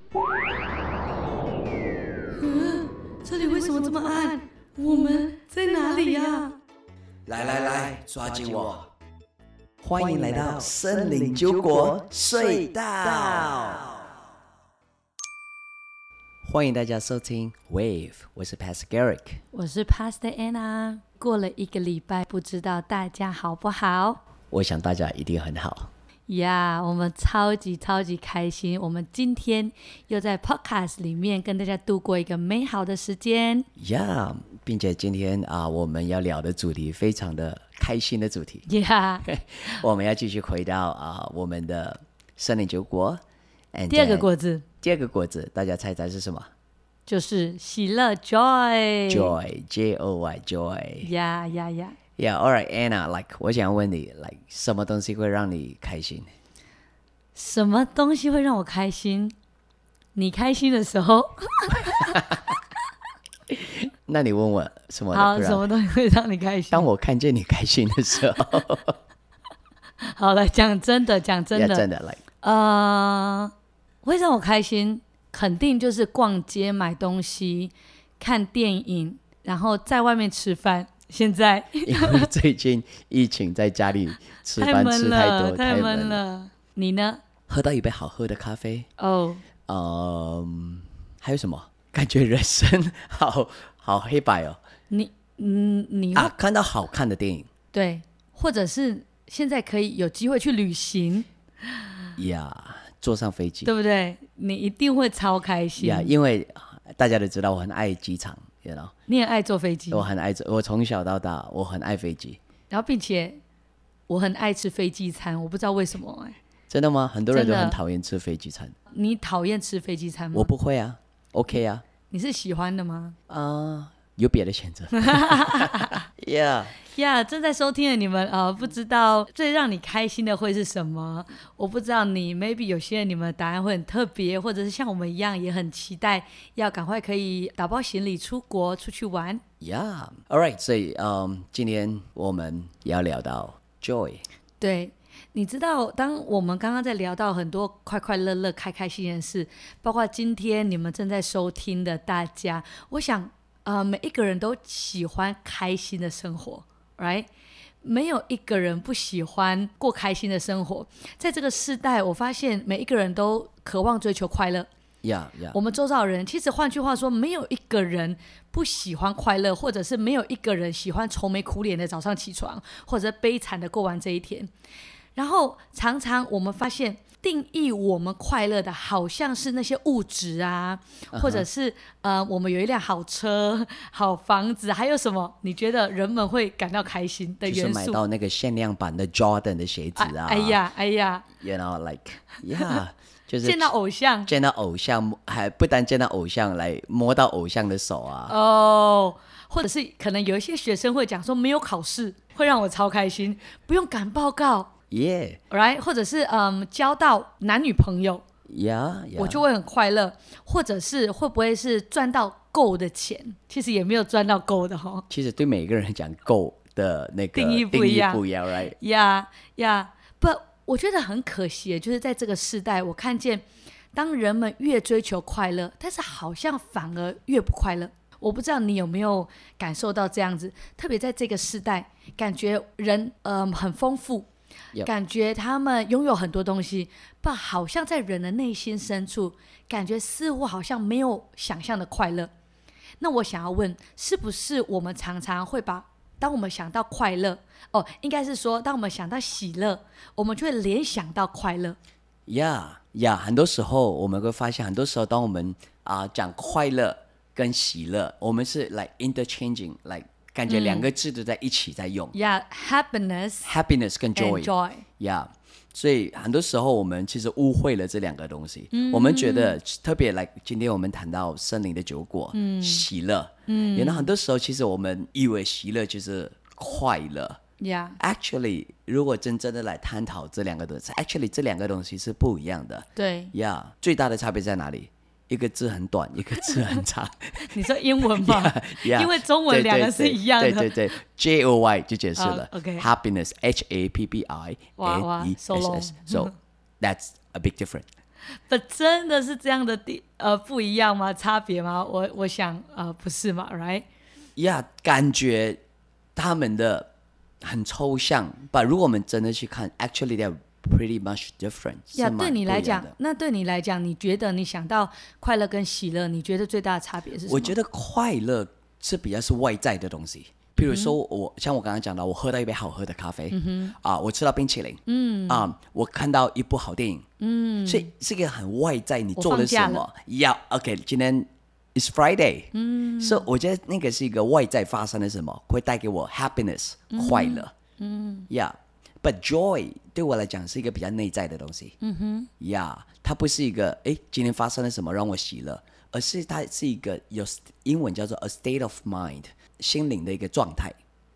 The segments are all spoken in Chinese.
這裡為什麼這麼暗？我們在哪裡呀？ 來，抓緊我！歡迎來到森林酒國隧道。歡迎大家收聽 Wave， 我是 Pastor Garrick， 我是 Pastor Anna。過了一個禮拜，不知道大家好不好？ 我想大家一定很好。 呀、我們超級開心，我們今天又在 Podcast 裡面跟大家度過一個美好的時間。 並且今天我們要聊的主題非常的開心的主題。我們要繼續回到我們的森林酒國。 第二個果子， 大家猜是什麼？ 就是喜樂 Joy Joy Joy。 Yeah, all right, Anna,我想問你什麼東西會讓你開心？ 什麼東西會讓我開心？你開心的時候。 那你問我什麼？ 好，什麼東西會讓你開心？ 當我看見你開心的時候。 好了，講真的， 真的會讓我開心，肯定就是逛街買東西、看電影，然後在外面吃飯。現在因為最近疫情，在家裡吃飯吃太多， 太悶了。你呢？ 喝到一杯好喝的咖啡。還有什麼？感覺人生好黑白哦。你看到好看的電影。對， 或者是現在可以有機會去旅行。 坐上飛機， 對不對？你一定會超開心。 因為大家都知道我很愛機場。 你很愛坐飛機？ 我從小到大我很愛飛機， 然後並且我很愛吃飛機餐，我不知道為什麼。 真的嗎？很多人都很討厭吃飛機餐。你討厭吃飛機餐嗎？ 我不會啊 ，OK 啊。 你是喜歡的嗎？ 有別的選擇。 正在收聽的你們不知道最讓你開心的會是什麼？我不知道你 maybe 有些人你們的答案會很特別，或者是像我們一樣也很期待要趕快可以打包行李出國出去玩。 All right， 所以今天我們也要聊到 joy。對， 你知道當我們剛剛在聊到很多快快樂樂開開心心的事，包括今天你們正在收聽的大家，我想每一個人都喜歡開心的生活，right？ 沒有一個人不喜歡過開心的生活。在這個世代，我發現每一個人都渴望追求快樂。我們周遭的人，其實換句話說，沒有一個人不喜歡快樂，或者是沒有一個人喜歡愁眉苦臉的早上起床，或者悲慘的過完這一天。然後常常我們發現，定義我們快樂的好像是那些物質啊，或者是我們有一輛好車、好房子，還有什麼？你覺得人們會感到開心的元素？ 就是買到那個限量版的 Jordan 的鞋子啊！ 哎呀 ，You know, yeah， 就是見到偶像， 還不單見到偶像，來摸到偶像的手啊！ 或者是可能有一些學生會講說，沒有考試會讓我超開心，不用趕報告。right？ 或者是交到男女朋友，我就會很快樂。或者是會不會是賺到夠的錢？其實也沒有賺到夠的齁。 其實對每個人講夠的那個定義不一樣 ，right？ But 我覺得很可惜，就是在這個世代，我看見當人們越追求快樂，但是好像反而越不快樂。我不知道你有沒有感受到這樣子？特別在這個世代，感覺人很豐富。感覺他們擁有很多東西，但好像在人的內心深處，感覺似乎好像沒有想象的快樂。那我想要問，是不是我們常常會當我們想到快樂，應該是說，當我們想到喜樂，我們就會聯想到快樂。 很多時候我們會發現，很多時候當我們講快樂跟喜樂，我們是interchanging，感覺兩個字都在一起在用。happiness 跟 joy。所以很多時候我們其實誤會了這兩個東西。我們覺得特別今天我們談到森林的酒國，喜樂。然後很多時候其實我們以為喜樂就是快樂。Actually， 如果真正的來探討這兩個東西 ，actually 這兩個東西是不一樣的。對。最大的差別在哪裡？一個字很短，一個字很長。你說英文嗎？因為中文兩個是一樣的。對 ，Joy 就解釋了。Happiness，Happiness，So that's a big difference。 But 真的是這樣的不一樣嗎？差別嗎？我想不是嘛 ，right？ Yeah， 感覺他們的很抽象，but 如果我們真的去看 ，actually they're pretty much different。 對你來講，那對你來講，你覺得你想到快樂跟喜樂，你覺得最大的差別是什麼？ 我覺得快樂是比較是外在的東西。比如說像我剛剛講到，我喝到一杯好喝的咖啡，我吃到冰淇淋，我看到一部好電影，所以是一個很外在，你做了什麼？OK， 今天 is Friday，所以我覺得那個是一個外在發生的什麼，會帶給我 happiness，快樂，but joy 對我來講是一個比較內在的東西，它不是一個今天發生了什麼讓我喜樂，而是它是一個有英文叫做 a state of mind。心靈的一個狀態。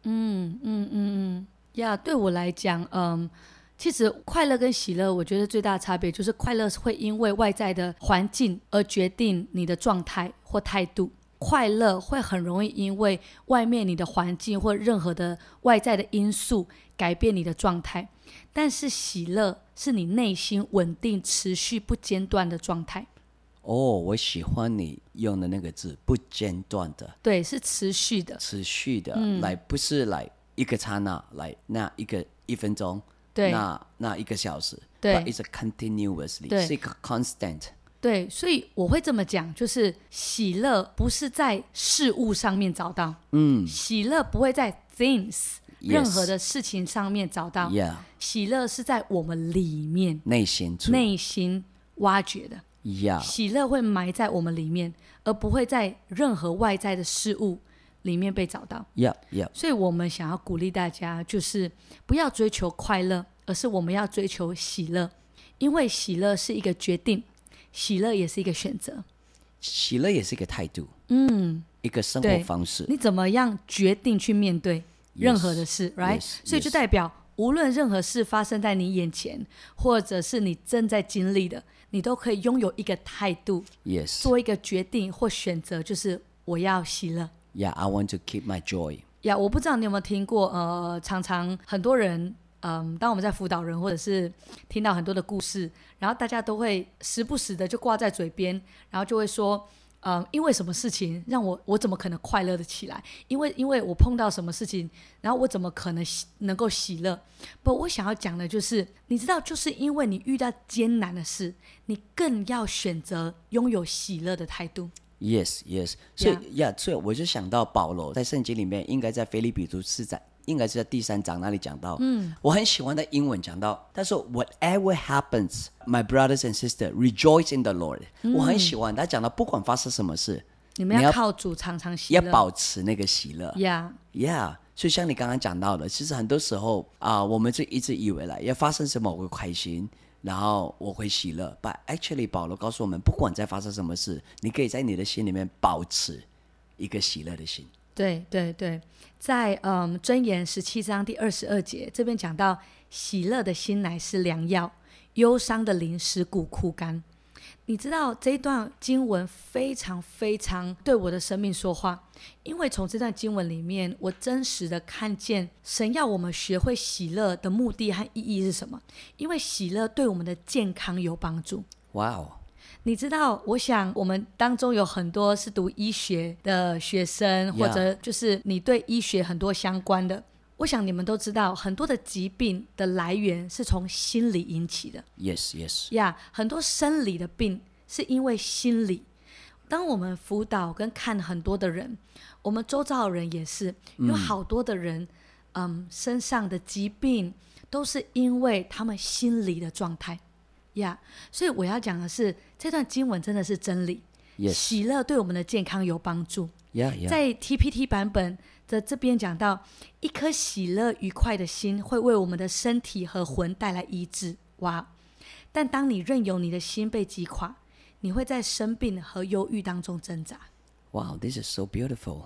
對我來講，其實快樂跟喜樂，我覺得最大的差別就是快樂會因為外在的環境而決定你的狀態或態度，快樂會很容易因為外面你的環境或任何的外在的因素改變你的狀態，但是喜樂是你內心穩定、持續、不間斷的狀態。 我喜歡你用的那個字，不間斷的。對， 是持續的。持續的， 來不是來一個剎那，來那一分鐘，對，那一個小時，對 ，but it's a continuously， 對，是一個 constant。 對，所以我會這麼講，就是喜樂不是在事物上面找到，喜樂不會在 things 任何的事情上面找到，喜樂是在我們裡面內心挖掘的。喜樂會埋在我們裡面，而不會在任何外在的事物裡面被找到。所以我們想要鼓勵大家，就是不要追求快樂，而是我們要追求喜樂，因為喜樂是一個決定，喜樂也是一個選擇， 喜樂也是一個態度，一個生活方式。你怎麼樣決定去面對任何的事 ，right？ 所以就代表，無論任何事發生在你眼前，或者是你正在經歷的，你都可以擁有一個態度，做一個決定或選擇，就是我要喜樂。 I want to keep my joy. 我不知道你有沒有聽過，常常很多人，當我們在輔導人或者是聽到很多的故事，然後大家都會時不時的就掛在嘴邊，然後就會說，因為什麼事情讓我怎麼可能快樂的起來？因為我碰到什麼事情，然後我怎麼可能能夠喜樂？不，我想要講的就是，你知道，就是因為你遇到艱難的事，你更要選擇擁有喜樂的態度。 Yes， 所以我就想到保羅在聖經裡面，應該在腓立比書4章，應該是在第3章那裡講到，我很喜歡的英文講到，他說 Whatever happens, my brothers and sisters, rejoice in the Lord。我很喜歡他講到，不管發生什麼事， 你們要靠主常常喜樂， 要保持那個喜樂。所以像你剛剛講到的，其實很多時候我們就一直以為要發生什麼我會開心，然後我會喜樂。But actually， 保羅告訴我們，不管在發生什麼事，你可以在你的心裡面保持一個喜樂的心。 对，在箴言17章第22節這邊講到，喜樂的心乃是良藥，憂傷的靈使骨枯乾。你知道這一段經文非常非常對我的生命說話，因為從這段經文裡面，我真實的看見神要我們學會喜樂的目的和意義是什麼。因為喜樂對我們的健康有幫助。你知道，我想我們當中有很多是讀醫學的學生，或者就是你对醫學很多相關的，我想你們都知道，很多的疾病的來源是從心理引起的。很多生理的病是因為心理。當我們輔導跟看很多的人，我們周遭的人也是有好多的人，身上的疾病都是因為他們心理的狀態。所以我要講的是，這段經文真的是真理。喜樂對我們的健康有幫助。在 TPT 版本的這邊講到，一顆喜樂愉快的心會為我們的身體和魂帶來醫治。但當你任由你的心被擊垮，你會在生病和憂鬱當中掙扎。 Wow, this is so beautiful.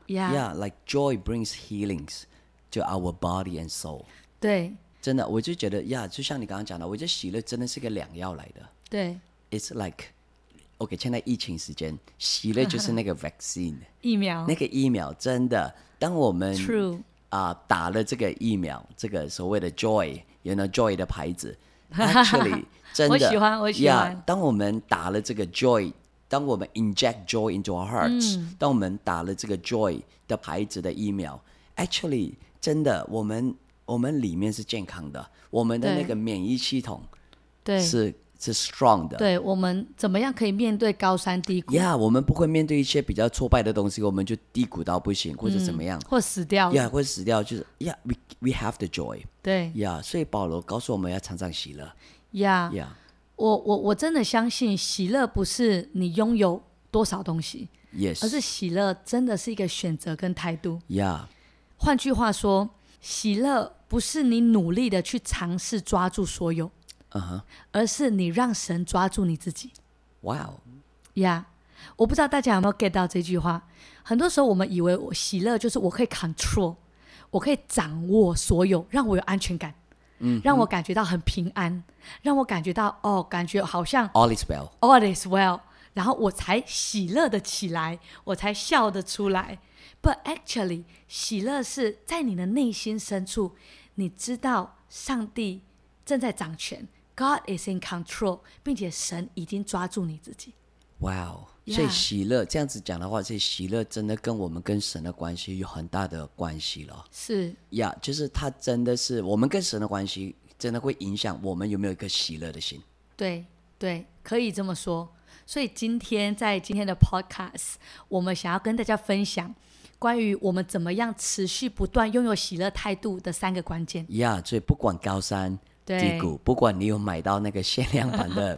Like joy brings healings to our body and soul. 對。 真的，我就觉得就像你刚剛講的，我覺得喜樂真的是個良藥來的。 對 ，It's like OK， 現在疫情時間，喜樂就是那個 vaccine 疫苗， 那個疫苗真的，當我們 True 打了這個疫苗，這個所謂的 joy， joy 的牌子， Actually 真的我喜歡 yeah, 當我們打了這個 joy， 當我們 inject joy into our hearts，當我們打了這個 joy 的牌子的疫苗 actually 真的我們裡面是健康的，我們的那個免疫系統是 strong 的。 對，我們怎麼樣可以面對高山低谷我們不會面對一些比較挫敗的東西，我們就低谷到不行，或者怎麼樣， 或死掉或者死掉，就是we have the joy。 對所以保羅告訴我們要常常喜樂。 我真的相信喜樂不是你擁有多少東西，而是喜樂真的是一個選擇跟態度。換句話說，喜樂不是你努力的去嘗試抓住所有，而是你讓神抓住你自己。我不知道大家有沒有 get 到這句話。很多時候我們以為喜樂就是我可以 control， 我可以掌握所有，讓我有安全感，讓我感覺到很平安，讓我感覺到感覺好像 all is well， all is well， 然后我才喜樂的起來，我才笑得出來。But actually 喜樂是在你的內心深處，你知道上帝正在掌權， God is in control， 並且神已經抓住你自己。 所以喜樂這樣子講的話，所以喜樂真的跟我們跟神的關係有很大的關係了。 是就是它真的是我們跟神的關係真的會影響我們有沒有一個喜樂的心。 对，可以這麼說。所以在今天的 podcast， 我們想要跟大家分享關於我們怎麼樣持續不斷擁有喜樂態度的3個關鍵。 所以不管高山低谷，不管你有買到那個限量版的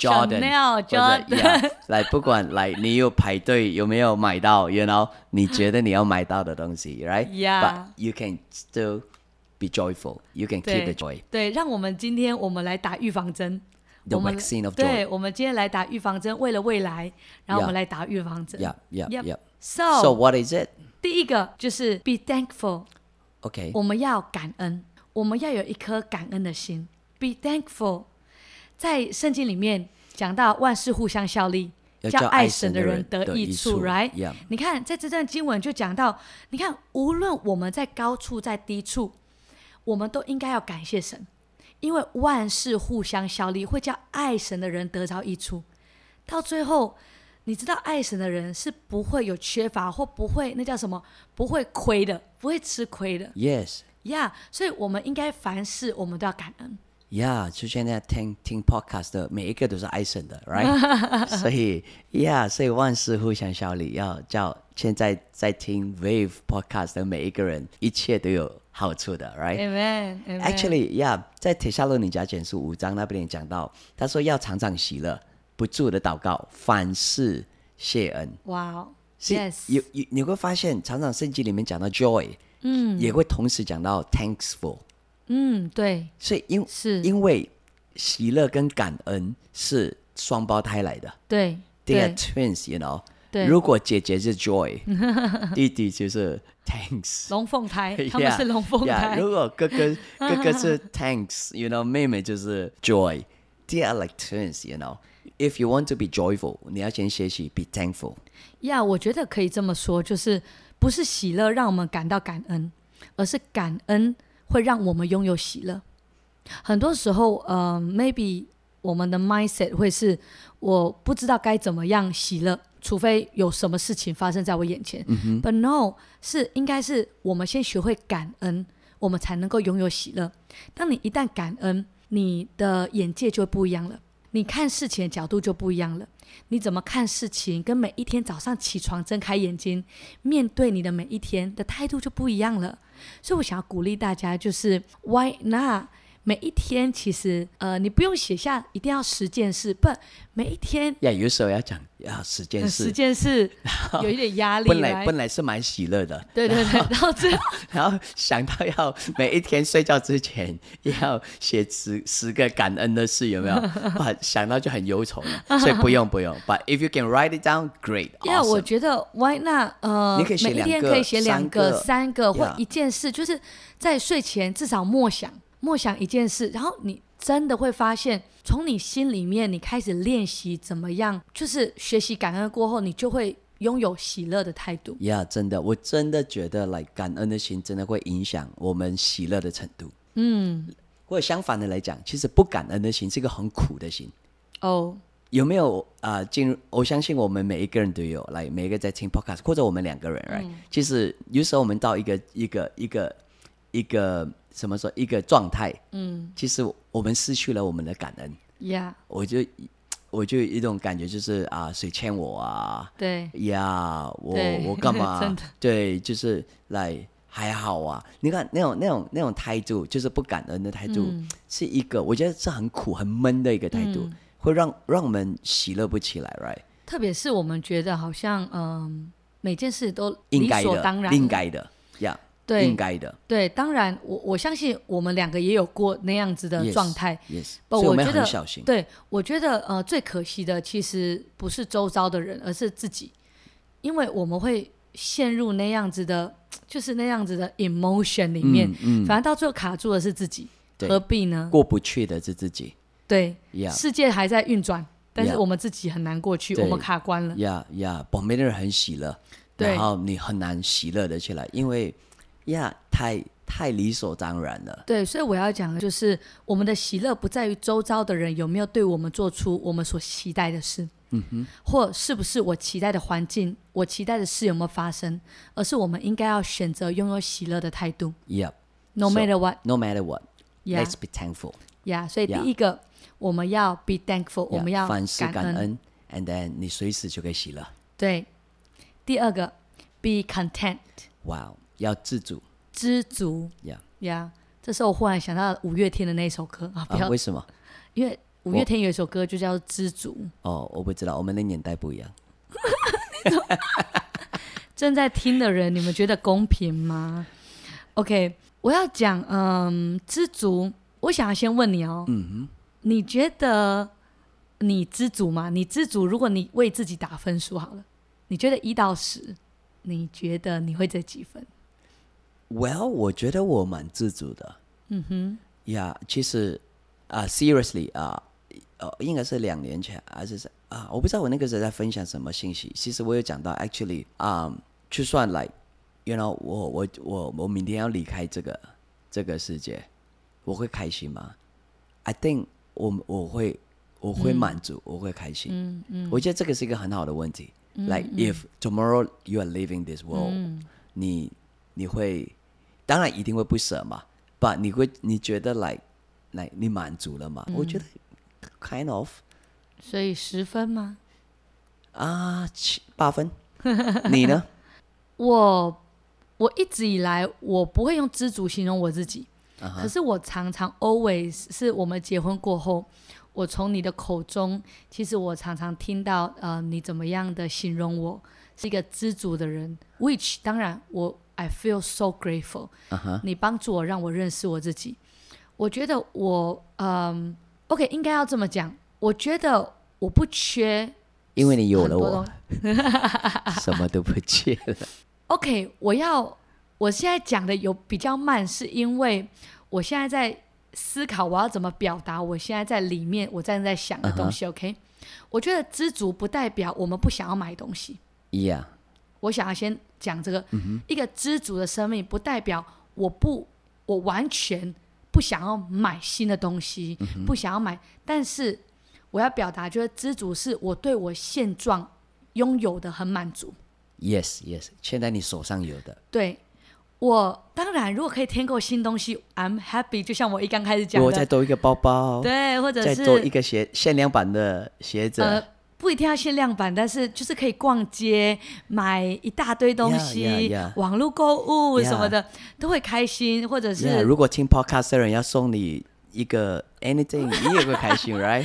Jordan， 來不管來你有排隊有沒有買到 you know 你覺得你要買到的東西 right but you can still be joyful, you can keep the joy。 對，讓我們今天来打預防針。 The vaccine of joy。 對，我們今天來打預防針，為了未來，然後我們來打預防針。 So what is it？ 第一個就是 be thankful。 OK， 我們要感恩，我們要有一顆感恩的心。Be thankful。 在聖經裡面講到萬事互相效力，叫愛神的人得益處 right？ 你看在這段經文就講到，你看無論我們在高處在低處，我們都應該要感謝神，因為萬事互相效力，會叫愛神的人得着益處。到最後你知道愛神的人是不會有缺乏，或不會那叫什麼，不會虧的，不會吃虧的。所以我們應該凡事我們都要感恩。 就現在聽 podcast 的每一個都是愛神的 right 所以萬事互相效力，要叫現在在聽 Wave podcast 的每一個人一切都有好處的 right Amen Actually 在帖撒羅尼迦前書5章那邊也講到，他說要常常喜樂，不住的禱告，凡事謝恩。你會發現常常聖經裡面講到 joy，也會同時講到 thankful。 對， 所以因為喜樂跟感恩是雙胞胎來的， 對 ，they are twins， you know。如果姐姐是 joy， 弟弟就是 thanks， 龍鳳胎，他們是龍鳳胎。 如果哥哥是 thanks， you know， 妹妹就是 joy，they are like twins，you know。If you want to be joyful， 你要先學習 be thankful。 我覺得可以這麼說，就是不是喜樂讓我們感到感恩，而是感恩會讓我們擁有喜樂。很多時候maybe 我們的 mindset 會是我不知道該怎麼樣喜樂，除非有什麼事情發生在我眼前。But no， 應該是我們先學會感恩，我們才能夠擁有喜樂。當你一旦感恩，你的眼界就不一樣了，你看事情的角度就不一樣了。你怎麼看事情，跟每一天早上起床睜開眼睛面對你的每一天的態度就不一樣了。所以我想要鼓勵大家，就是 why not 每一天其實你不用寫下一定要10件事，不，每一天有時候要講10件事，10 件事有一點壓力。 本來是蠻喜樂的， 對， 然後想到要每一天睡覺之前要寫10個感恩的事，有沒有？想到就很憂愁了，所以不用。But if you can write it down, great. Awesome. 我覺得 why not？ 你可以寫2個， 每一天可以寫2個、3個或一件事，就是在睡前至少默想一件事，然後你真的會發現，從你心裡面你開始練習怎麼樣，就是學習感恩過後，你就會擁有喜樂的態度。 真的，我真的覺得感恩的心真的會影響我們喜樂的程度。 或者相反的來講，其實不感恩的心是一個很苦的心。 哦， 有沒有進入？我相信我們每一個人都有，來每一個在聽 podcast， 或者我們兩個人，right？其實有時候我們到一個什麼說一個狀態，其實我們失去了我們的感恩。 Yeah， 我就有一種感覺，就是誰欠我啊？ 對呀，我幹嘛？ 真的對，就是來還好啊。你看那種態度，就是不感恩的態度，是一個我覺得是很苦很悶的一個態度，會讓我們喜樂不起來 ，right？ 特別是我們覺得好像每件事都理所當然， 應該的呀。 對， 應該的。對， 當然，我相信我們兩個也有過那樣子的狀態。 Yes， 所以我們很小心。 對，我覺得最可惜的其實不是周遭的人，而是自己，因為我們會陷入那樣子的，就是那樣子的 emotion 裡面，反正到最後卡住的是自己，何必呢？ 過不去的是自己。對， 世界還在運轉，但是我們自己很難過去，我們卡關了。旁邊的人很喜樂，然後你很難喜樂的起來，因為。太理所當然了。對，所以我要講的就是，我們的喜樂不在於周遭的人有沒有對我們做出我們所期待的事，或是不是我期待的環境，我期待的事有沒有發生，而是我們應該要選擇擁有喜樂的態度。No matter what, let's be thankful. 所以第一個，我們要 be thankful， 我們要凡事感恩 ，and then 你隨時就可以喜樂。对， 第二個 be content。 Wow。要知足， 这时候我忽然想到五月天的那首歌為什麼？ 因為五月天有一首歌就叫《知足》。 我不知道，我們的年代不一樣。 正在聽的人，你們覺得公平嗎 ？OK， 我要講，知足。我想要先問你你覺得你知足嗎？你知足，如果你為自己打分數好了，你覺得1到10，你覺得你會得幾分？ Well， 我覺得我蠻知足的。其實seriously 應該是2年前還是我不知道我那個時候在分享什麼信息。其實我有講到 actually 就算 like you know 我明天要離開這個世界，我會開心嗎？ I think 我會滿足，我會開心。我覺得這個是一個很好的問題。Like if tomorrow you are leaving this world，你會當然一定會不捨嘛 ，but 你覺得 like 你滿足了嗎？我覺得 kind of。 所以10分嗎 ？8分。你呢？ 我一直以來我不會用知足形容我自己，可是我常常 always 是我們結婚過後，我從你的口中，其實我常常聽到你怎麼樣的形容我是一個知足的人 ，which 當然I feel so grateful。你幫助我，讓我認識我自己。我覺得我OK 應該要這麼講。我覺得我不缺， 因為你有了我，什麼都不缺了。 OK， 我現在講的有比較慢，是因為我現在在思考我要怎麼表達我現在在裡面我正在想的東西。OK， 我覺得知足不代表我們不想要買東西。我想要先講這個，一個知足的生命不代表我完全不想要買新的東西，不想要買，但是我要表達就是知足是我對我現狀擁有的很滿足。 Yes， 現在你手上有的。對， 我當然如果可以添購新東西 I'm happy， 就像我剛開始講的， 我再多一個包包， 對，或者是再多一個限量版的鞋子， 不一定要限量版，但是就是可以逛街買一大堆東西，網絡購物什麼的，都會開心。或者是如果聽 podcast 的人要送你一個 anything， 你也會開心，right？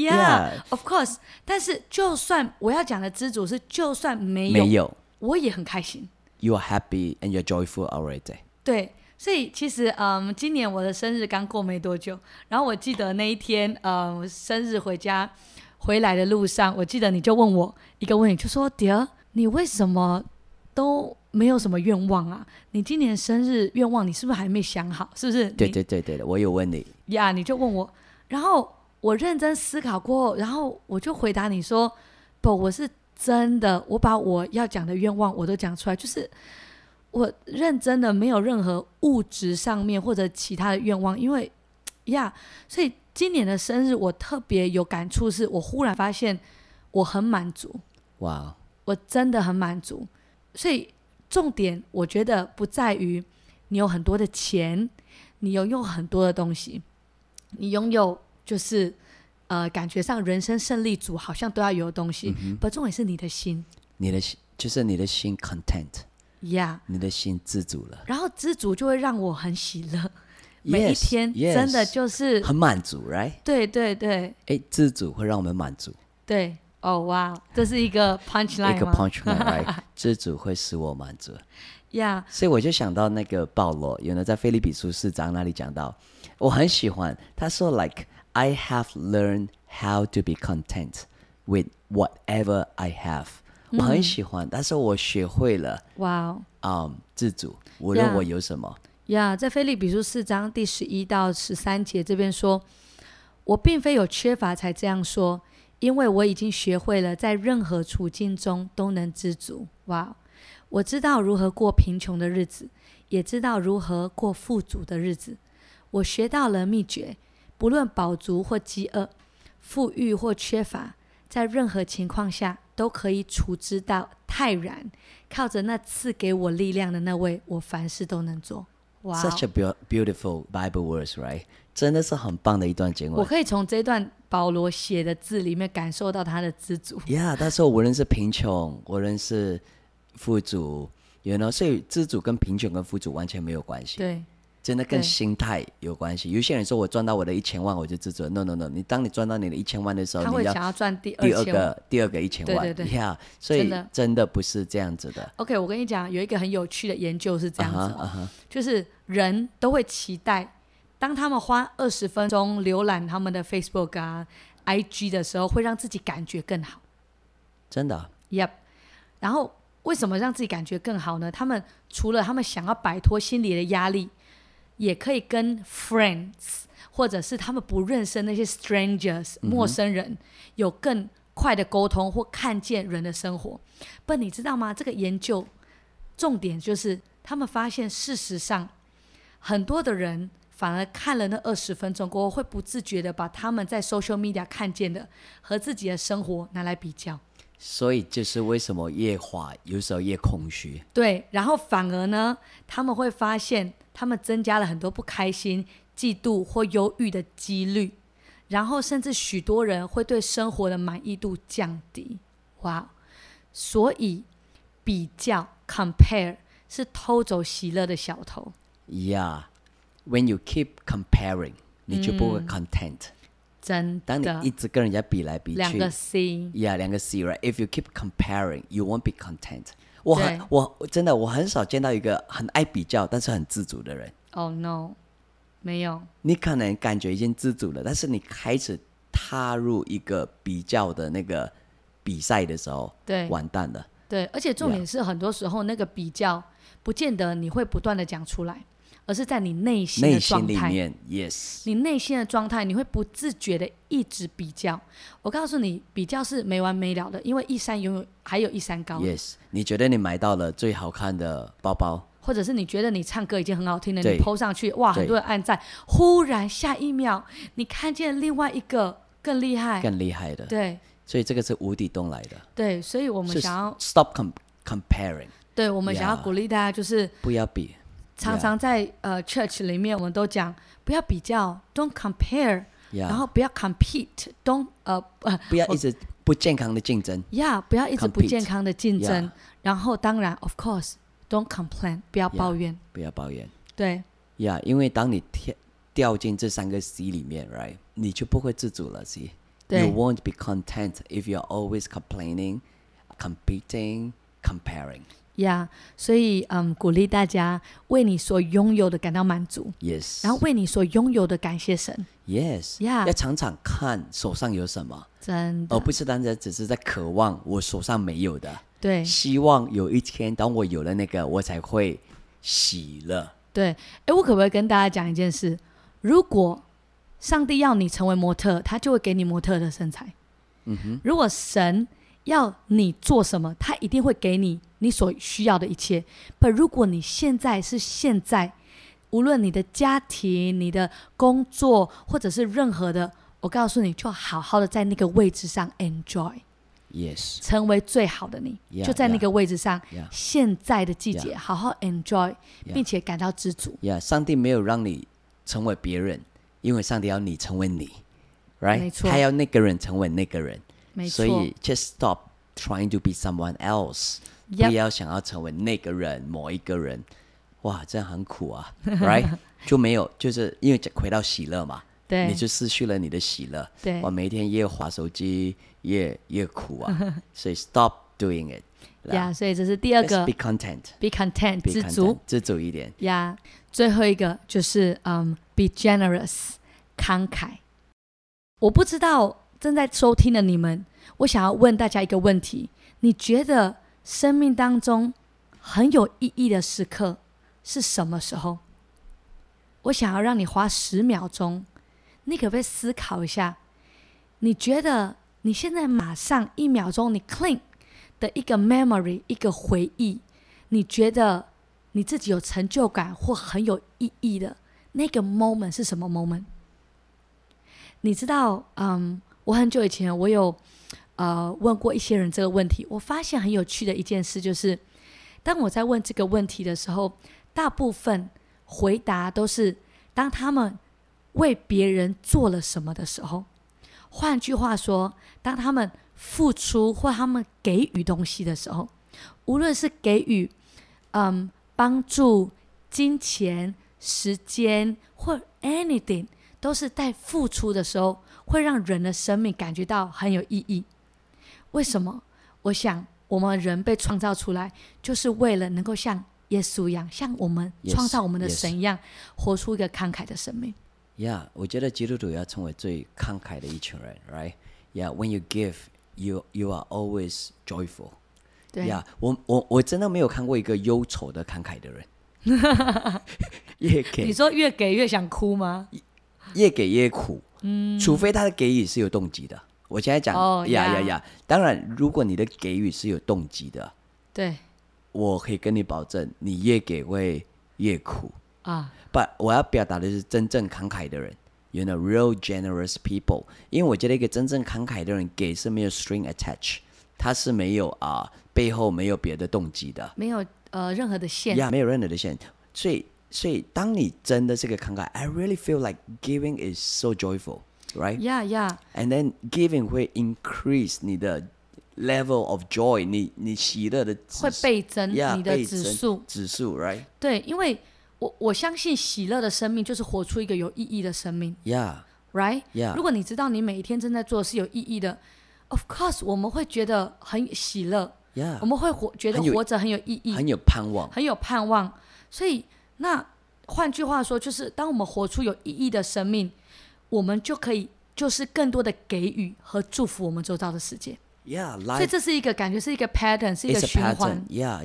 Of course。但是就算我要講的知足是，就算沒有，我也很開心。 You are happy and you're joyful already。 對，所以其實今年我的生日剛過沒多久，然後我記得那一天生日回來的路上，我記得你就問我一個問題，就說 Dear， 你為什麼都沒有什麼願望啊？你今年生日願望你是不是還沒想好？是不是？ 對，我有問你你就問我，然後我認真思考過後，然後我就回答你說不，我是真的，我把我要講的願望我都講出來，就是我認真的沒有任何物質上面或者其他的願望，因為呀，所以今年的生日我特別有感觸，是我忽然發現我很滿足。 哇， 我真的很滿足。所以重點我覺得不在於你有很多的錢，你擁有很多的東西，你擁有就是感覺上人生勝利組好像都要有的東西，不，重點是你的心， 就是你的心 content， 呀、 你的心知足了， 然後知足就會讓我很喜樂，每一天真的就是很滿足 ，right？ 對對對， 知足會讓我們滿足， 對。哦，哇，這是一個 punchline 嗎？ 一個 punchline，right？ 知足會使我滿足。 呀、 所以我就想到那個保羅，原來在腓立比書4章那裡講到，我很喜歡，他說 like I have learned how to be content with whatever I have。我很喜歡，但是我學會了， 哇， 知足，無論我有什麼。 在腓立比書4章第11到13節這邊說，我並非有缺乏才這樣說。因為我已經學會了在任何處境中都能知足。哇，我知道如何過貧窮的日子，也知道如何過富足的日子。我學到了秘訣，不論飽足或飢餓，富裕或缺乏，在任何情況下都可以處之到泰然。靠着那賜給我力量的那位，我凡事都能做。哇 Such a beautiful Bible verse, right？ 真的是很棒的一段經文。 我可以從這段保羅寫的字裡面感受到他的知足。 但是無論是貧窮，無論是富足，所以知足跟貧窮跟富足完全沒有關係。 對， 真的跟心態有關係。有些人說我賺到我的1000萬我就知足了 ，no， 當你賺到你的1000萬的時候， 他會想要賺第二個1000萬。 對，所以真的不是這樣子的。 OK， 我跟你講，有一個很有趣的研究是這樣子就是人都會期待，當他們花20分鐘瀏覽他們的 Facebook 啊、IG 的時候，會讓自己感覺更好。 真的 ？Yep。然後為什麼讓自己感覺更好呢？他們除了他們想要擺脫心理的壓力，也可以跟 friends 或者是他們不認識那些 strangers 陌生人有更快的溝通或看見人的生活。不，你知道嗎？這個研究重點就是他們發現，事實上很多的人反而看了那20分鐘過後，會不自覺的把他們在 social media 看見的和自己的生活拿來比較。 所以就是為什麼越滑有時候越空虛。對， 然後反而呢，他們會發現他們增加了很多不開心、嫉妒或憂鬱的幾率，然後甚至許多人會對生活的滿意度降低。哇，所以比較 compare 是偷走喜樂的小偷。 When you keep comparing， 你就不會 content。 真的， 當你一直跟人家比來比去， 兩個 C， 兩個 C right？If you keep comparing, you won't be content。我真的我很少見到一個很愛比較但是很知足的人。 Oh no， 沒有。 你可能感覺已經知足了，但是你開始踏入一個比較的那個比賽的時候，對，完蛋了。對，而且重點是很多時候那個比較不見得你會不斷的講出來。而是在你內心的狀態，內心裡面 yes， 你內心的狀態，你會不自覺的一直比較。我告訴你，比較是沒完沒了的，因為一山永遠還有一山高。Yes， 你覺得你買到了最好看的包包， 或者是你覺得你唱歌已經很好聽了，你 po 上去，哇，很多人按讚，忽然下一秒你看見另外一個更厲害的，对， 所以這個是無底洞來的。 對，所以我們想要 stop comparing。對， 我們想要鼓勵大家就是不要比。常常在church 裡面，我們都講不要比較 ，don't compare， 然後不要 compete，don't 不要一直不健康的競爭， 不要一直不健康的競爭，然後當然 of course don't complain， 不要抱怨， 不要抱怨， 對， 因為當你掉進這3個 C 裡面 ，right， 你就不會自主了 ，See， you won't be content if you're always complaining, competing, comparing。 所以鼓勵大家為你所擁有的感到滿足 ，Yes， 然後為你所擁有的感謝神 ，Yes， 要常常看手上有什麼， 真的， 而不是單純只是在渴望我手上沒有的， 對， 希望有一天當我有了那個，我才會喜樂。 對，我可不可以跟大家講一件事？如果上帝要你成為模特，他就會給你模特的身材。如果神要你做什麼，他一定會給你所需要的一切。但如果你現在無論你的家庭、你的工作，或者是任何的，我告訴你，就好好的在那個位置上 enjoy。Yes， 成為最好的你，就在那個位置上。現在的季節，好好 enjoy，並且感到知足。 上帝沒有讓你成為別人，因為上帝要你成為你 ，right？ 沒錯， 他要那個人成為那個人， 沒錯。 所以 just stop trying to be someone else， 不要想要成為那個人、某一個人。哇，這樣很苦啊，right？ 就沒有，就是因為回到喜樂嘛。對，你就失去了你的喜樂。對，我每天越滑手機越苦啊，所以 stop doing it。 所以這是第二個 ，be content，be content， 知足， 知足一點。 最後一個就是be generous， 慷慨。我不知道正在收聽的你們，我想要問大家一個問題：你覺得生命當中很有意義的時刻是什麼時候？我想要讓你花10秒鐘。你可不可以思考一下，你覺得你現在馬上1秒鐘你 clean 的一個 memory， 一個回憶，你覺得你自己有成就感或很有意義的那個 moment 是什麼 moment？ 你知道我很久以前我有問過一些人這個問題，我發現很有趣的一件事就是當我在問這個問題的時候，大部分回答都是當他們為別人做了什麼的時候，換句話說，當他們付出或他們給予東西的時候，無論是給予幫助、金錢、時間或 anything， 都是在付出的時候會讓人的生命感覺到很有意義。為什麼？我想我們人被創造出來就是為了能夠像耶穌一樣，像我們創造我們的神一樣，活出一個慷慨的生命。 我覺得基督徒要成為最慷慨的一群人 ，right？ when you give, you are always joyful。對，我真的沒有看過一個憂愁的慷慨的人。越給， 你說越給越想哭嗎？ 越給越苦，除非他的給予是有動機的。我現在講，當然，如果你的給予是有動機的，對，我可以跟你保證，你越給會越苦啊。But 我要表達的是真正慷慨的人 ，you know, real generous people。因為我覺得一個真正慷慨的人給是沒有 string attached， 他是沒有背後沒有別的動機的， 沒有任何的線， 沒有任何的線。所以當你真的是個慷慨 ，I really feel like giving is so joyful, right? And then giving 會 increase 你的 level of joy， 你喜樂的會倍增，你的指數 ，right？ 對，因為我相信喜樂的生命就是活出一個有意義的生命。Right？ 如果你知道你每一天正在做的是有意義的 ，of course 我們會覺得很喜樂。我們會覺得活着很有意義， 很有盼望， 很有盼望。所以那換句話說，就是當我們活出有意義的生命，我們就可以就是更多的給予和祝福我們周遭的世界。所以這是一個感覺是一個 pattern， 是一個循環。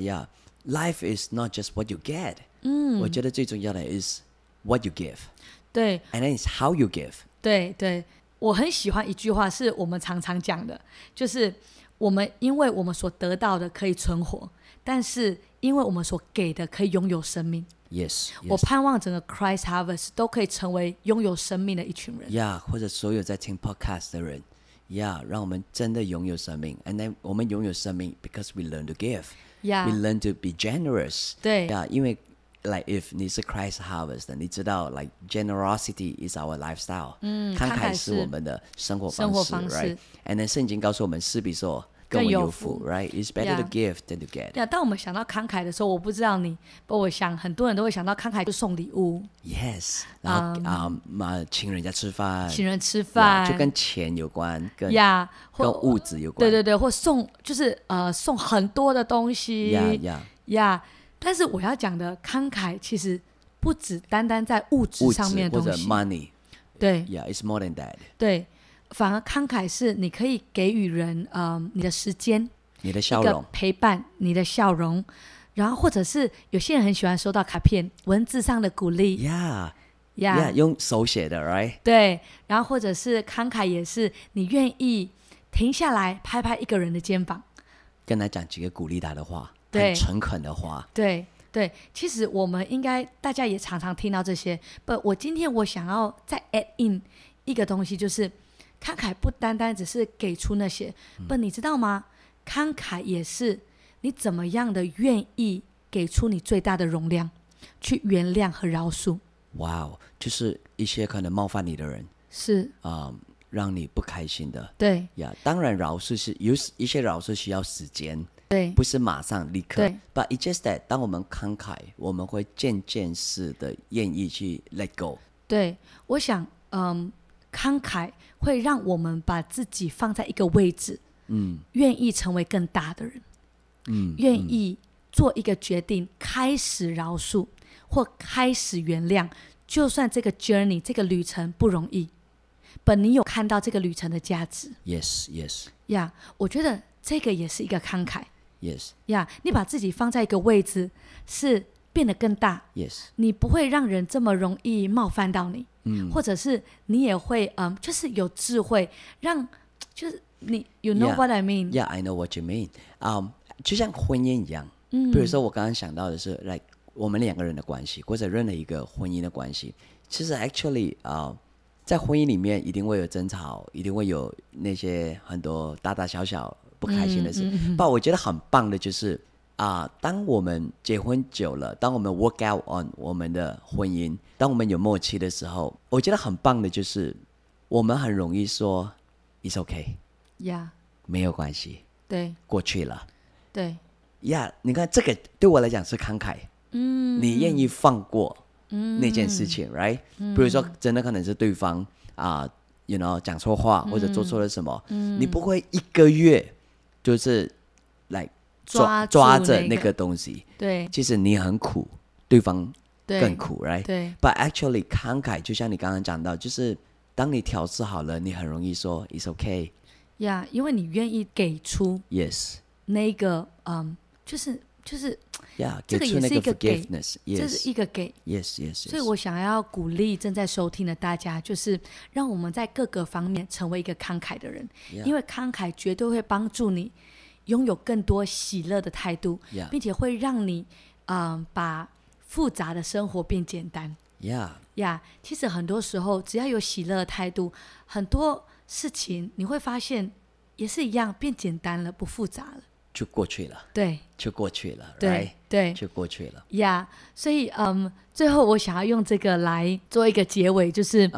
Life is not just what you get。我覺得最重要的是 what you give。對 ，and then it's how you give。 对，我很喜歡一句話，是我們常常講的，就是因為我們所得到的可以存活，但是因為我們所給的可以擁有生命。 Yes， 我盼望整個 Christ Harvest 都可以成為擁有生命的一群人。 或者所有在聽 podcast 的人，讓我們真的擁有生命。And then 我們擁有生命 because we learn to give。We learn to be generous。对，因為 like if 你是 Christ Harvest 的，你知道 like generosity is our lifestyle。慷慨是我們的生活方式 ，right？And then 聖經告訴我們，施比受更為有福 ，right？ It's better to give than to get。 當我們想到慷慨的時候，我不知道你，不，我想很多人都會想到慷慨就送禮物。 Yes， 然後請人家吃飯，就跟錢有關，跟物質有關。對，或送就是送很多的東西。但是我要講的慷慨其實不只單單在物質上面的東西， 或者 money。對 ，it's more than that。 對。反而慷慨是你可以給予人你的時間， 你的笑容， 一個陪伴，你的笑容，然後或者是有些人很喜歡收到卡片，文字上的鼓勵， 用手寫的 ，right？ 對，然後或者是慷慨也是你願意停下來拍拍一個人的肩膀， 跟他講幾個鼓勵他的話，很誠懇的話， 對， 對，其實我們應該大家也常常聽到這些。我今天我想要再 add in 一個東西，就是慷慨不單單只是給出那些，你知道嗎？慷慨也是你怎麼樣的願意給出你最大的容量，去原諒和饒恕。哇哦， 就是一些可能冒犯你的人， 是讓你不開心的。 對呀，當然饒恕是有一些饒恕需要時間， 對， 不是馬上立刻。 對 But it's just that 當我們慷慨，我們會漸漸式的願意去 let go。 對，我想，慷慨會讓我們把自己放在一個位置，願意成為更大的人，願意做一個決定，開始饒恕或開始原諒，就算這個 journey 這個旅程不容易，你有看到這個旅程的價值。 Yes。 呀，我覺得這個也是一個慷慨。 Yes。 呀，你把自己放在一個位置，是變得更大。 Yes。 你不會讓人這麼容易冒犯到你。或者是你也會就是有智慧，讓就是你 you know what I mean? Yeah, I know what you mean. 就像婚姻一樣，比如說我剛剛想到的是，like 我們兩個人的關係，或者任何一個婚姻的關係，其實 actually 在婚姻裡面一定會有爭吵，一定會有那些很多大大小小不開心的事。但我覺得很棒的就是當我們結婚久了，當我們 work out on 我們的婚姻，當我們有默契的時候，我覺得很棒的就是我們很容易說 It's okay， 沒有關係，對，過去了，對，你看這個對我來講是慷慨，你願意放過那件事情，right？比如說真的可能是對方you know 講錯話或者做錯了什麼，你不會一個月就是來抓着那個東西，對，其實你很苦，對方更苦，right？對。But actually， 慷慨就像你剛剛講到，就是當你調試好了，你很容易說 It's okay。 因為你願意給出 Yes 那個就是這個也是一個給，這是一個給。 Yes。 所以我想要鼓勵正在收聽的大家，就是讓我們在各個方面成為一個慷慨的人，因為慷慨絕對會幫助你擁有更多喜樂的態度，並且會讓你把複雜的生活變簡單。其實很多時候只要有喜樂的態度，很多事情你會發現也是一樣變簡單了，不複雜了， 就過去了。對，就過去了。對，就過去了。 所以最後我想要用這個來做一個結尾，就是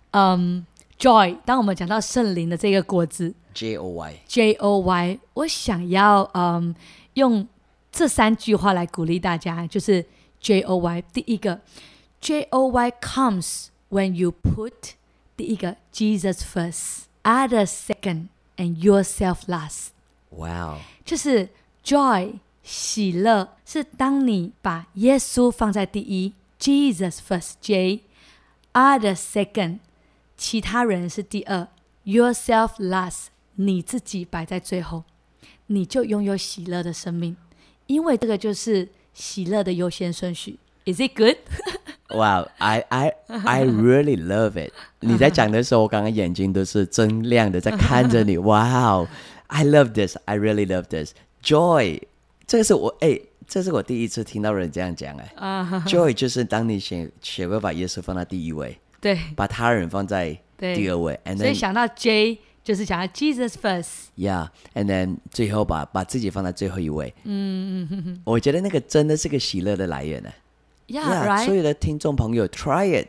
Joy。當我們講到聖靈的這個果子。Joy， 我想要用這3句話來鼓勵大家，就是 Joy。第一個 Joy comes when you put 第一個 Jesus first, others second, and yourself last。 Wow， 就是 Joy 喜樂是當你把耶穌放在第一 Jesus first J， others second 其他人是第二 yourself last，你自己擺在最後，你就擁有喜樂的生命，因為這個就是喜樂的優先順序。Is it good? Wow, I really love it. 你在講的時候，我剛剛眼睛都是睜亮的，在看着你。Wow, I love this. I really love this. Joy， 這是我第一次聽到人這樣講。Joy 就是當你學會把耶穌放在第一位，對，把他人放在第二位，所以想到 J。就是講 Jesus first， and then 最後把自己放在最後一位。我覺得那個真的是個喜樂的來源呢。 right？ 所有的聽眾朋友 try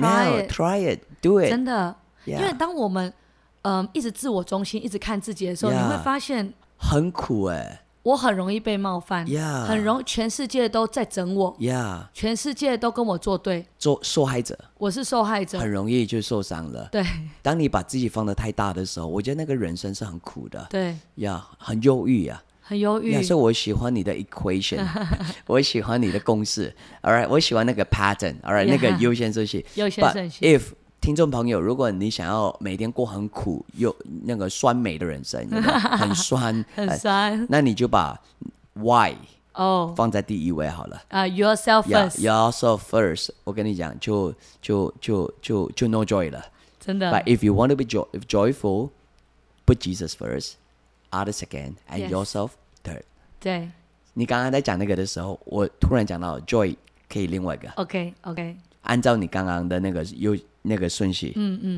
it do it。真的， 因為當我們一直自我中心，一直看自己的時候，你會發現很苦我很容易被冒犯，全世界都在整我，全世界都跟我作對， 受害者，我是受害者，很容易就受傷了。对，當你把自己放得太大的時候，我覺得那個人生是很苦的。對，很憂鬱很憂鬱。所以我喜歡你的 equation， 我喜歡你的公式。All right， 我喜歡那個 pattern。All right， 那個優先順序。If 聽眾朋友，如果你想要每天過很苦又那個酸梅的人生，很酸很酸，那你就把 why 放在第一位好了。 Yourself first。Yourself first。我跟你講，就 no joy 了，真的。But if you want to be joyful, put Jesus first, others second, and yourself third。对。 你剛剛在講那個的時候，我突然講到 joy 可以另外一個。 OK， 按照你剛剛的那個順序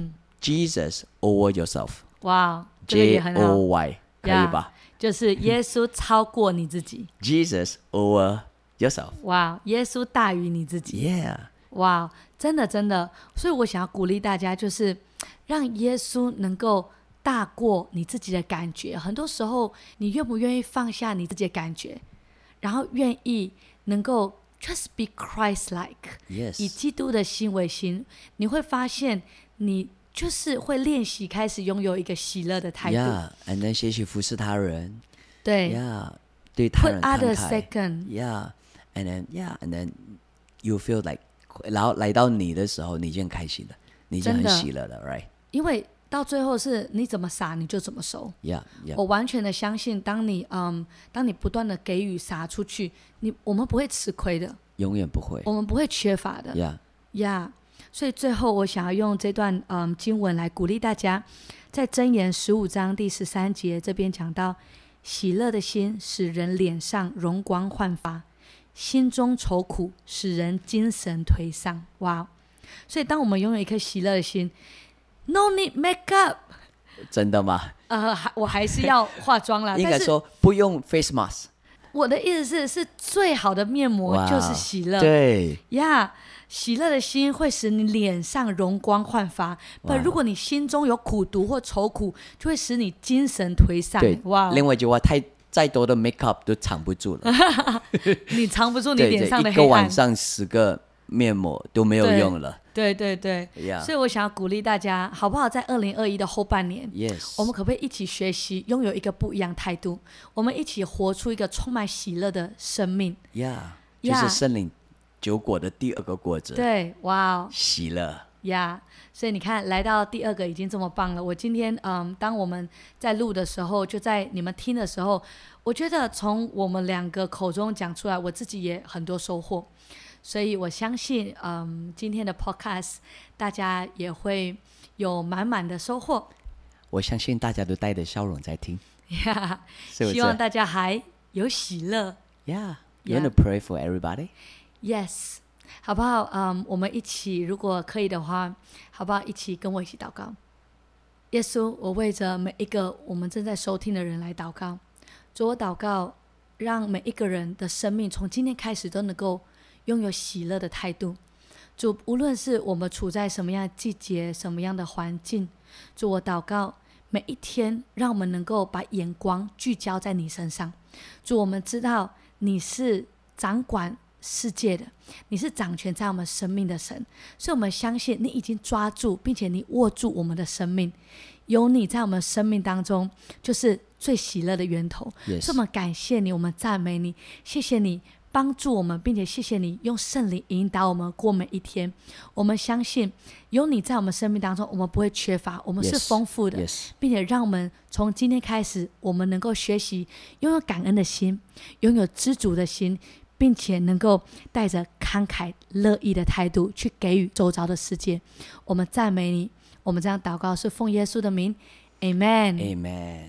，Jesus over yourself。 哇，這個也很好。 JOY 可以吧？ 就是耶穌超過你自己。 Jesus over yourself。 哇，耶穌大於你自己。 Yeah。 哇，真的真的，所以我想要鼓勵大家，就是讓耶穌能夠大過你自己的感覺。很多時候，你願不願意放下你自己的感覺，然後願意能夠 just be Christ-like， Yes， 以基督的心為心，你會發現你就是會練習開始擁有一個喜樂的態度。 Yeah，and then 學習服侍他人。 對。 Yeah， 對他人慷慨。 Put others second。 Yeah，and then you feel like， 然後來到你的時候，你就很開心了，你就很喜樂了 ，right？ 因為到最後是你怎麼撒你就怎麼收。 Yeah， 我完全的相信，當你不斷的給予撒出去，我們不會吃虧的， 永遠不會， 我們不會缺乏的。Yeah， 所以最後我想要用這段經文來鼓勵大家，在箴言15章第13節這邊講到，喜樂的心使人臉上容光煥發，心中愁苦使人精神頹喪。哇！所以當我們擁有一顆喜樂的心，No need makeup。 真的嗎？ 我還是要化妝啦。 應該說不用 face mask。 我的意思是最好的面膜就是喜樂。 對呀，喜樂的心會使你臉上容光煥發。但如果你心中有苦毒或愁苦，就會使你精神頹喪。 對，哇！另外一句話，再多的 makeup 都藏不住了。 你藏不住你臉上的黑暗。 一個晚上10個面膜都沒有用了。 對， Yeah. 所以我想要鼓勵大家，好不好？在2021的後半年， Yes. 我們可不可以一起學習，擁有一個不一樣態度？我們一起活出一個充滿喜樂的生命。 就是聖靈9果的第2個果子。 對，哇， 喜樂。 所以你看，來到第2個已經這麼棒了。我今天當我們在錄的時候，就在你們聽的時候，我覺得從我們2個口中講出來，我自己也很多收穫。所以我相信今天的 podcast 大家也會有滿滿的收穫。 我相信大家都帶着笑容在聽。 希望大家還有喜樂。 You want to pray for everybody? Yes， 好不好？我們一起，如果可以的話，好不好？一起跟我一起禱告。耶穌，我為着每一個我們正在收聽的人來禱告。主，我禱告，讓每一個人的生命從今天開始都能夠擁有喜樂的態度。主，無論是我們處在什麼樣的季節、什麼樣的環境，主，我禱告每一天，讓我們能夠把眼光聚焦在你身上。主，我們知道你是掌管世界的，你是掌權在我們生命的神，所以我們相信你已經抓住，並且你握住我們的生命。有你在我們生命當中，就是最喜樂的源頭。 Yes. 所以我們感謝你，我們讚美你，謝謝你幫助我們，並且謝謝你用聖靈引導我們過每一天。我們相信有你在我們生命當中，我們不會缺乏，我們是豐富的。並且讓我們從今天開始，我們能夠學習擁有感恩的心，擁有知足的心，並且能夠帶着慷慨樂意的態度去給予周遭的世界。我們讚美你，我們這樣禱告是奉耶穌的名 Amen Amen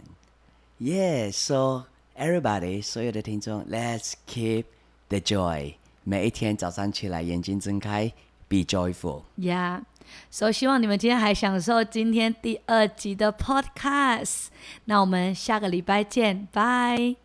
Yeah, so everybody 所有的聽眾 Let's keep the joy 每一天早上起來眼睛睜開 Be joyful So 希望你們今天還享受今天第2集的 podcast。那我們下個禮拜見，拜。